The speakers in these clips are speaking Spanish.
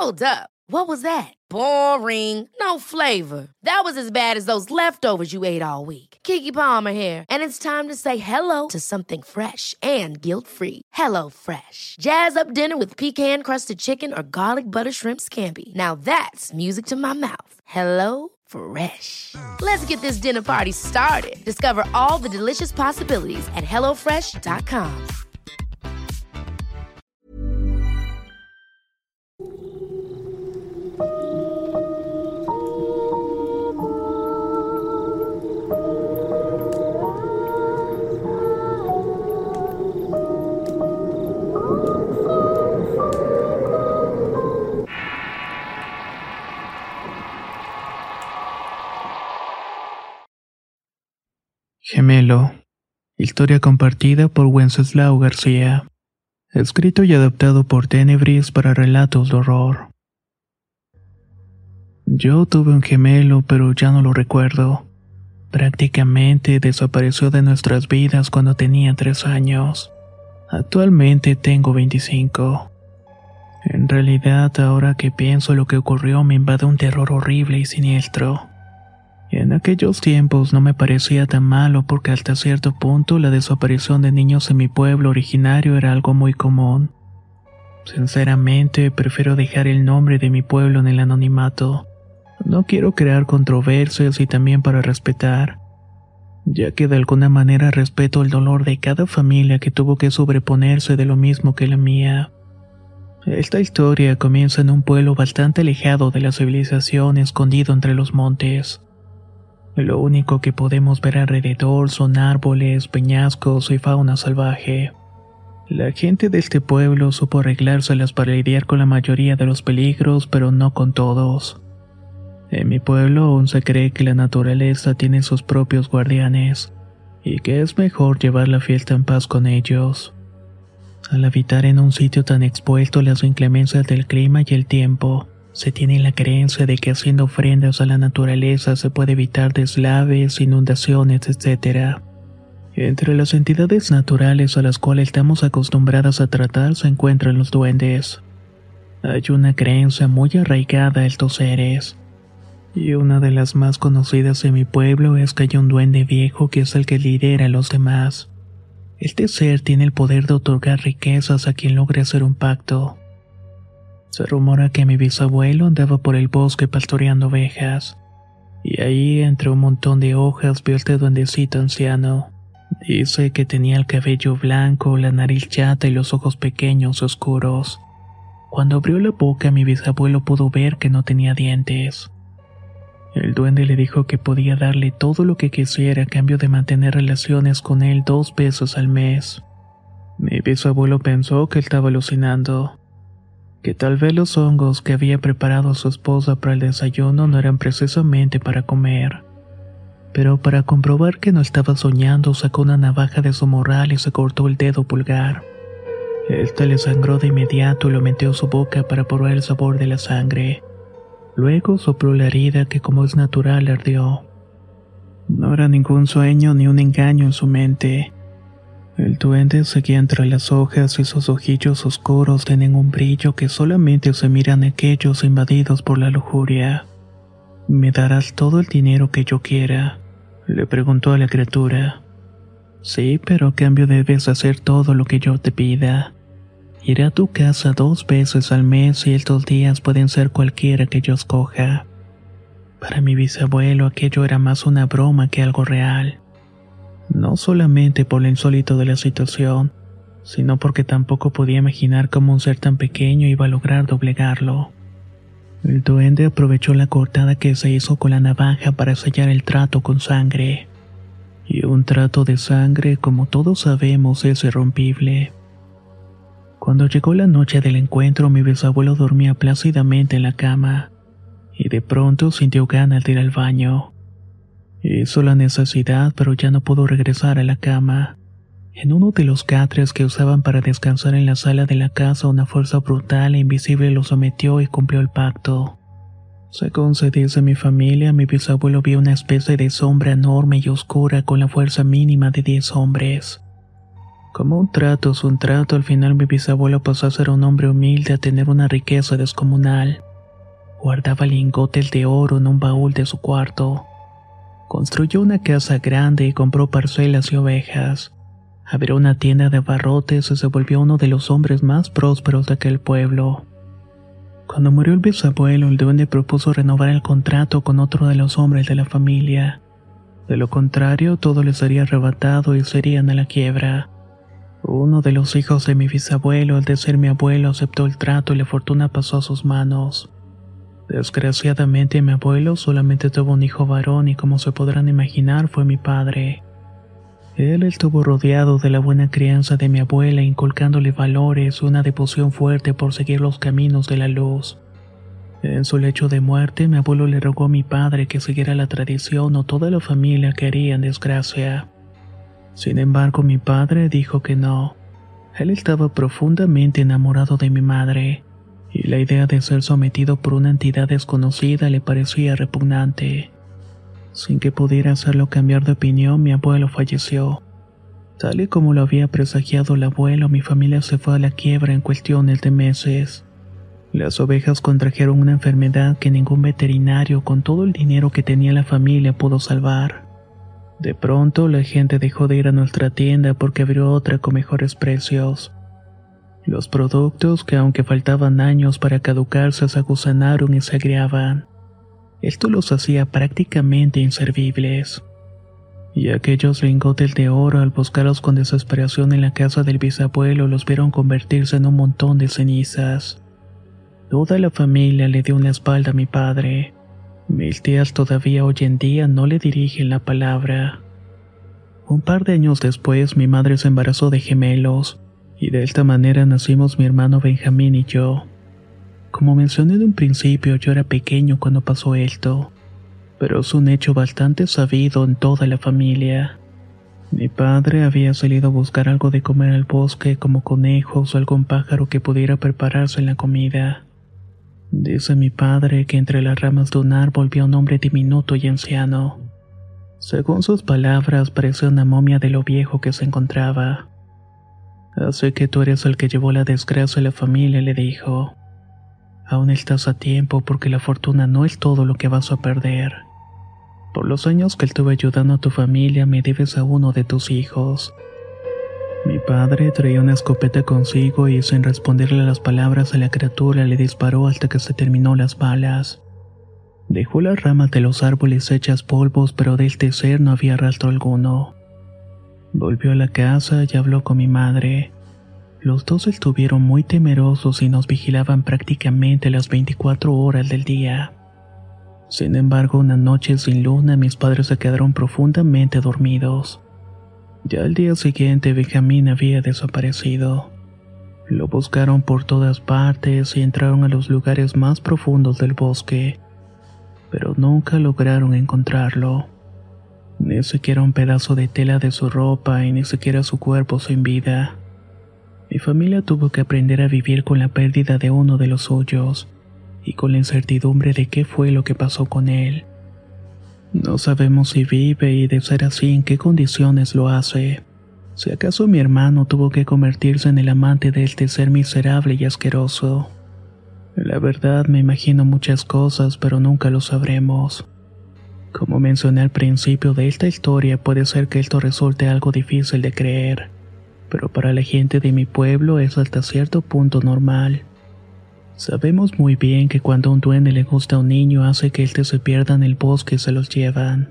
Hold up. What was that? Boring. No flavor. That was as bad as those leftovers you ate all week. Keke Palmer here, and it's time to say hello to something fresh and guilt-free. Hello Fresh. Jazz up dinner with pecan-crusted chicken or garlic butter shrimp scampi. Now that's music to my mouth. Hello Fresh. Let's get this dinner party started. Discover all the delicious possibilities at hellofresh.com. Gemelo. Historia compartida por Wenceslao García. Escrito y adaptado por Tenebris para relatos de horror. Yo tuve un gemelo, pero ya no lo recuerdo. Prácticamente desapareció de nuestras vidas cuando tenía 3 años. Actualmente tengo 25. En realidad, ahora que pienso lo que ocurrió, me invade un terror horrible y siniestro. En aquellos tiempos no me parecía tan malo porque hasta cierto punto la desaparición de niños en mi pueblo originario era algo muy común. Sinceramente, prefiero dejar el nombre de mi pueblo en el anonimato. No quiero crear controversias y también para respetar, ya que de alguna manera respeto el dolor de cada familia que tuvo que sobreponerse de lo mismo que la mía. Esta historia comienza en un pueblo bastante alejado de la civilización, escondido entre los montes. Lo único que podemos ver alrededor son árboles, peñascos y fauna salvaje. La gente de este pueblo supo arreglárselas para lidiar con la mayoría de los peligros, pero no con todos. En mi pueblo aún se cree que la naturaleza tiene sus propios guardianes, y que es mejor llevar la fiesta en paz con ellos. Al habitar en un sitio tan expuesto a las inclemencias del clima y el tiempo, se tiene la creencia de que haciendo ofrendas a la naturaleza se puede evitar deslaves, inundaciones, etc. Entre las entidades naturales a las cuales estamos acostumbradas a tratar se encuentran los duendes. Hay una creencia muy arraigada a estos seres, y una de las más conocidas en mi pueblo es que hay un duende viejo que es el que lidera a los demás. Este ser tiene el poder de otorgar riquezas a quien logre hacer un pacto. Se rumora que mi bisabuelo andaba por el bosque pastoreando ovejas, y ahí, entre un montón de hojas, vio este duendecito anciano. Dice que tenía el cabello blanco, la nariz chata y los ojos pequeños oscuros. Cuando abrió la boca, mi bisabuelo pudo ver que no tenía dientes. El duende le dijo que podía darle todo lo que quisiera a cambio de mantener relaciones con él 2 veces al mes. Mi bisabuelo pensó que estaba alucinando, que tal vez los hongos que había preparado su esposa para el desayuno no eran precisamente para comer. Pero para comprobar que no estaba soñando, sacó una navaja de su morral y se cortó el dedo pulgar. Esta le sangró de inmediato y lo metió a su boca para probar el sabor de la sangre. Luego sopló la herida que, como es natural, ardió. No era ningún sueño ni un engaño en su mente. El duende seguía entre las hojas y sus ojillos oscuros tienen un brillo que solamente se miran aquellos invadidos por la lujuria. ¿Me darás todo el dinero que yo quiera?, le preguntó a la criatura. Sí, pero a cambio debes hacer todo lo que yo te pida. Iré a tu casa 2 veces al mes y estos días pueden ser cualquiera que yo escoja. Para mi bisabuelo aquello era más una broma que algo real. No solamente por lo insólito de la situación, sino porque tampoco podía imaginar cómo un ser tan pequeño iba a lograr doblegarlo. El duende aprovechó la cortada que se hizo con la navaja para sellar el trato con sangre. Y un trato de sangre, como todos sabemos, es irrompible. Cuando llegó la noche del encuentro, mi bisabuelo dormía plácidamente en la cama, y de pronto sintió ganas de ir al baño. Hizo la necesidad, pero ya no pudo regresar a la cama. En uno de los catres que usaban para descansar en la sala de la casa, una fuerza brutal e invisible lo sometió y cumplió el pacto. Según se dice mi familia, mi bisabuelo vio una especie de sombra enorme y oscura con la fuerza mínima de 10 hombres. Como un trato es un trato, al final mi bisabuelo pasó a ser un hombre humilde a tener una riqueza descomunal. Guardaba lingotes de oro en un baúl de su cuarto. Construyó una casa grande y compró parcelas y ovejas. Abrió una tienda de abarrotes y se volvió uno de los hombres más prósperos de aquel pueblo. Cuando murió el bisabuelo, el duende propuso renovar el contrato con otro de los hombres de la familia. De lo contrario, todo les sería arrebatado y serían a la quiebra. Uno de los hijos de mi bisabuelo, el de ser mi abuelo, aceptó el trato y la fortuna pasó a sus manos. Desgraciadamente, mi abuelo solamente tuvo un hijo varón y, como se podrán imaginar, fue mi padre. Él estuvo rodeado de la buena crianza de mi abuela, inculcándole valores y una devoción fuerte por seguir los caminos de la luz. En su lecho de muerte, mi abuelo le rogó a mi padre que siguiera la tradición o toda la familia caería en desgracia. Sin embargo, mi padre dijo que no. Él estaba profundamente enamorado de mi madre, y la idea de ser sometido por una entidad desconocida le parecía repugnante. Sin que pudiera hacerlo cambiar de opinión, mi abuelo falleció. Tal y como lo había presagiado el abuelo, mi familia se fue a la quiebra en cuestiones de meses. Las ovejas contrajeron una enfermedad que ningún veterinario, con todo el dinero que tenía la familia, pudo salvar. De pronto, la gente dejó de ir a nuestra tienda porque abrió otra con mejores precios. Los productos, que aunque faltaban años para caducarse, se aguzanaron y se agriaban. Esto los hacía prácticamente inservibles. Y aquellos lingotes de oro, al buscarlos con desesperación en la casa del bisabuelo, los vieron convertirse en un montón de cenizas. Toda la familia le dio una espalda a mi padre. Mis tías todavía hoy en día no le dirigen la palabra. Un par de años después, mi madre se embarazó de gemelos, y de esta manera nacimos mi hermano Benjamín y yo. Como mencioné de un principio, yo era pequeño cuando pasó esto, pero es un hecho bastante sabido en toda la familia. Mi padre había salido a buscar algo de comer al bosque, como conejos o algún pájaro que pudiera prepararse en la comida. Dice mi padre que entre las ramas de un árbol vio un hombre diminuto y anciano. Según sus palabras, parecía una momia de lo viejo que se encontraba. Así que tú eres el que llevó la desgracia a la familia, le dijo. Aún estás a tiempo porque la fortuna no es todo lo que vas a perder. Por los años que estuve ayudando a tu familia, me debes a uno de tus hijos. Mi padre traía una escopeta consigo y, sin responderle a las palabras a la criatura, le disparó hasta que se terminó las balas. Dejó las ramas de los árboles hechas polvos, pero de este ser no había rastro alguno. Volvió a la casa y habló con mi madre. Los dos estuvieron muy temerosos y nos vigilaban prácticamente las 24 horas del día. Sin embargo, una noche sin luna, mis padres se quedaron profundamente dormidos. Ya al día siguiente, Benjamín había desaparecido. Lo buscaron por todas partes y entraron a los lugares más profundos del bosque, pero nunca lograron encontrarlo. Ni siquiera un pedazo de tela de su ropa y ni siquiera su cuerpo sin vida. Mi familia tuvo que aprender a vivir con la pérdida de uno de los suyos y con la incertidumbre de qué fue lo que pasó con él. No sabemos si vive y, de ser así, en qué condiciones lo hace. Si acaso mi hermano tuvo que convertirse en el amante de este ser miserable y asqueroso. La verdad, me imagino muchas cosas, pero nunca lo sabremos. Como mencioné al principio de esta historia, puede ser que esto resulte algo difícil de creer, pero para la gente de mi pueblo es hasta cierto punto normal. Sabemos muy bien que cuando a un duende le gusta a un niño, hace que éste se pierda en el bosque y se los llevan.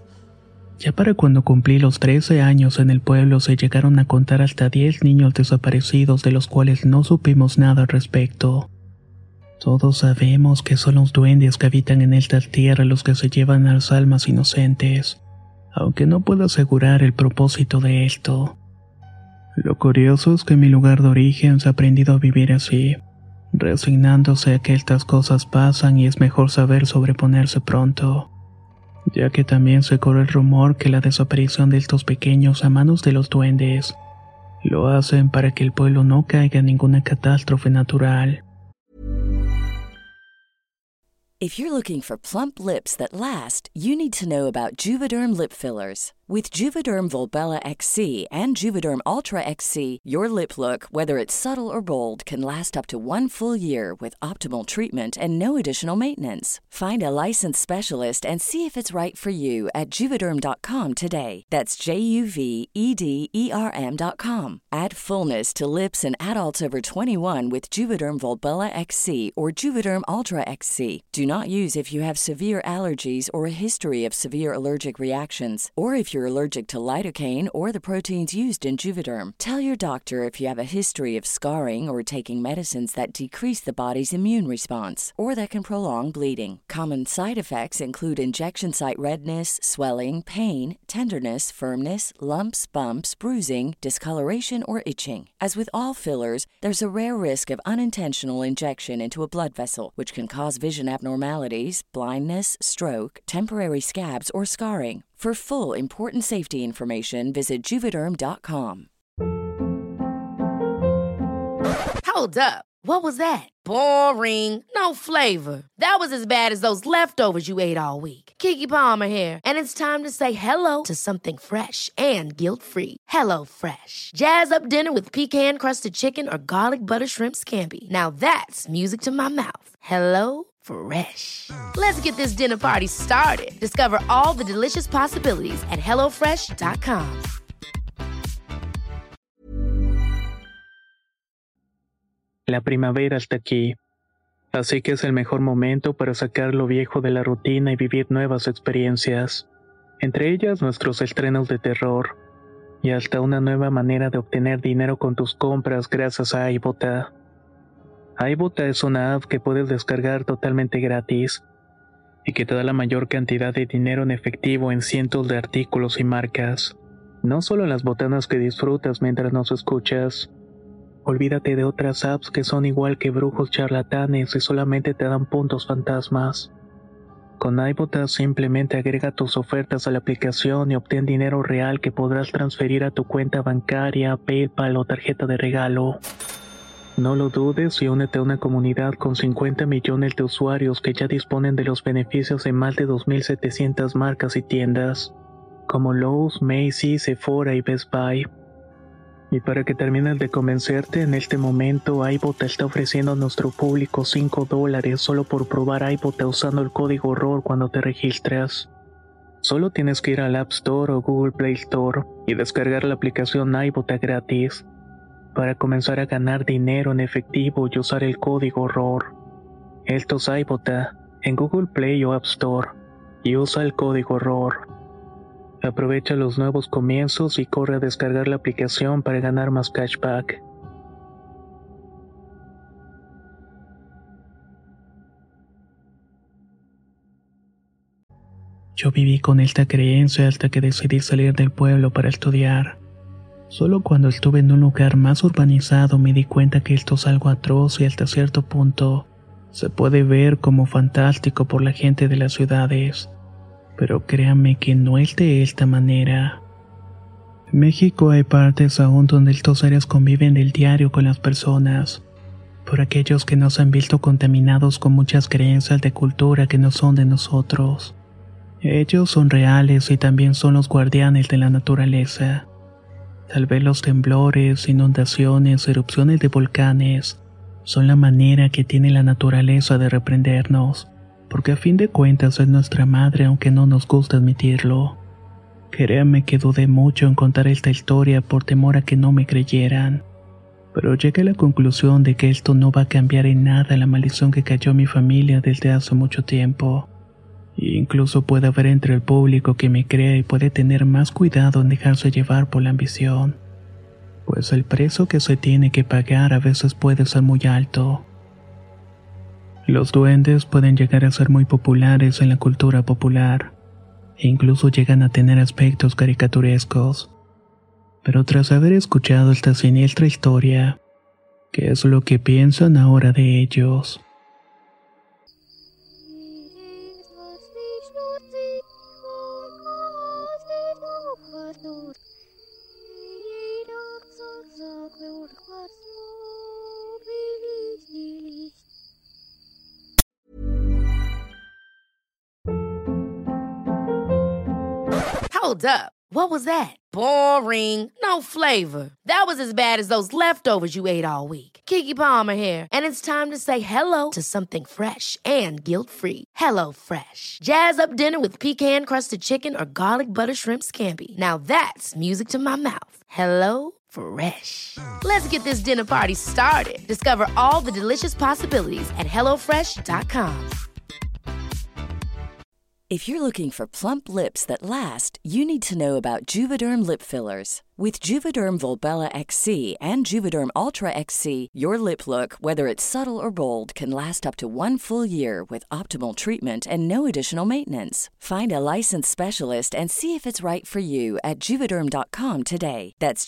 Ya para cuando cumplí los 13 años en el pueblo, se llegaron a contar hasta 10 niños desaparecidos, de los cuales no supimos nada al respecto. Todos sabemos que son los duendes que habitan en esta tierra los que se llevan a las almas inocentes, aunque no puedo asegurar el propósito de esto. Lo curioso es que en mi lugar de origen se ha aprendido a vivir así, resignándose a que estas cosas pasan, y es mejor saber sobreponerse pronto, ya que también se corre el rumor que la desaparición de estos pequeños a manos de los duendes lo hacen para que el pueblo no caiga en ninguna catástrofe natural. If you're looking for plump lips that last, you need to know about Juvederm lip fillers. With Juvederm Volbella XC and Juvederm Ultra XC, your lip look, whether it's subtle or bold, can last up to 1 full year with optimal treatment and no additional maintenance. Find a licensed specialist and see if it's right for you at Juvederm.com today. That's JUVEDERM.com. Add fullness to lips in adults over 21 with Juvederm Volbella XC or Juvederm Ultra XC. Do not use if you have severe allergies or a history of severe allergic reactions, or if you're allergic to lidocaine or the proteins used in Juvederm. Tell your doctor if you have a history of scarring or taking medicines that decrease the body's immune response or that can prolong bleeding. Common side effects include injection site redness, swelling, pain, tenderness, firmness, lumps, bumps, bruising, discoloration, or itching. As with all fillers, there's a rare risk of unintentional injection into a blood vessel, which can cause vision abnormalities, blindness, stroke, temporary scabs, or scarring. For full, important safety information, visit Juvederm.com. Hold up. What was that? Boring. No flavor. That was as bad as those leftovers you ate all week. Keke Palmer here, and it's time to say hello to something fresh and guilt-free. Hello Fresh. Jazz up dinner with pecan-crusted chicken or garlic butter shrimp scampi. Now that's music to my mouth. Hello Fresh. Let's get this dinner party started. Discover all the delicious possibilities at hellofresh.com. La primavera está aquí, así que es el mejor momento para sacar lo viejo de la rutina y vivir nuevas experiencias, entre ellas nuestros estrenos de terror, y hasta una nueva manera de obtener dinero con tus compras gracias a iBota. iBota es una app que puedes descargar totalmente gratis, y que te da la mayor cantidad de dinero en efectivo en cientos de artículos y marcas, no solo las botanas que disfrutas mientras nos escuchas. Olvídate de otras apps que son igual que brujos charlatanes y solamente te dan puntos fantasmas. Con iBota simplemente agrega tus ofertas a la aplicación y obtén dinero real que podrás transferir a tu cuenta bancaria, PayPal o tarjeta de regalo. No lo dudes y únete a una comunidad con 50 millones de usuarios que ya disponen de los beneficios de más de 2.700 marcas y tiendas, como Lowe's, Macy's, Sephora y Best Buy. Y para que termines de convencerte, en este momento iBota está ofreciendo a nuestro público $5 solo por probar iBota usando el código ROR cuando te registras. Solo tienes que ir al App Store o Google Play Store y descargar la aplicación iBota gratis para comenzar a ganar dinero en efectivo y usar el código ROR. Esto es iBota en Google Play o App Store y usa el código ROR. Aprovecha los nuevos comienzos y corre a descargar la aplicación para ganar más cashback. Yo viví con esta creencia hasta que decidí salir del pueblo para estudiar. Solo cuando estuve en un lugar más urbanizado me di cuenta que esto es algo atroz y hasta cierto punto se puede ver como fantástico por la gente de las ciudades. Pero créanme que no es de esta manera. En México hay partes aún donde estos seres conviven del diario con las personas, por aquellos que nos han visto contaminados con muchas creencias de cultura que no son de nosotros. Ellos son reales y también son los guardianes de la naturaleza. Tal vez los temblores, inundaciones, erupciones de volcanes son la manera que tiene la naturaleza de reprendernos, porque a fin de cuentas es nuestra madre aunque no nos gusta admitirlo. Créanme que dudé mucho en contar esta historia por temor a que no me creyeran, pero llegué a la conclusión de que esto no va a cambiar en nada la maldición que cayó a mi familia desde hace mucho tiempo. E incluso puede haber entre el público que me crea y puede tener más cuidado en dejarse llevar por la ambición, pues el precio que se tiene que pagar a veces puede ser muy alto. Los duendes pueden llegar a ser muy populares en la cultura popular, e incluso llegan a tener aspectos caricaturescos. Pero tras haber escuchado esta siniestra historia, ¿qué es lo que piensan ahora de ellos? Hold up. What was that? Boring. No flavor. That was as bad as those leftovers you ate all week. Keke Palmer here, and it's time to say hello to something fresh and guilt-free. Hello Fresh. Jazz up dinner with pecan-crusted chicken or garlic butter shrimp scampi. Now that's music to my mouth. Hello Fresh. Let's get this dinner party started. Discover all the delicious possibilities at hellofresh.com. If you're looking for plump lips that last, you need to know about Juvederm lip fillers. With Juvederm Volbella XC and Juvederm Ultra XC, your lip look, whether it's subtle or bold, can last up to 1 full year with optimal treatment and no additional maintenance. Find a licensed specialist and see if it's right for you at Juvederm.com today. That's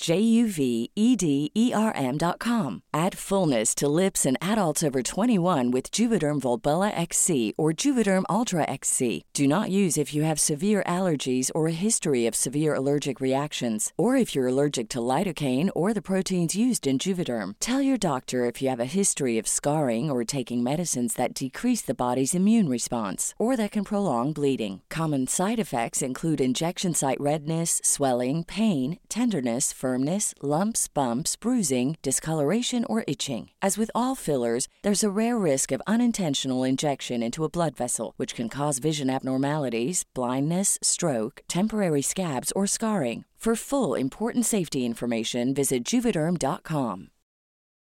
JUVEDERM.com. Add fullness to lips in adults over 21 with Juvederm Volbella XC or Juvederm Ultra XC. Do not use if you have severe allergies or a history of severe allergic reactions, or if you're allergic to lidocaine or the proteins used in Juvederm. Tell your doctor if you have a history of scarring or taking medicines that decrease the body's immune response or that can prolong bleeding. Common side effects include injection site redness, swelling, pain, tenderness, firmness, lumps, bumps, bruising, discoloration, or itching. As with all fillers, there's a rare risk of unintentional injection into a blood vessel, which can cause vision abnormalities, blindness, stroke, temporary scabs, or scarring. For full, important safety information, visit Juvederm.com.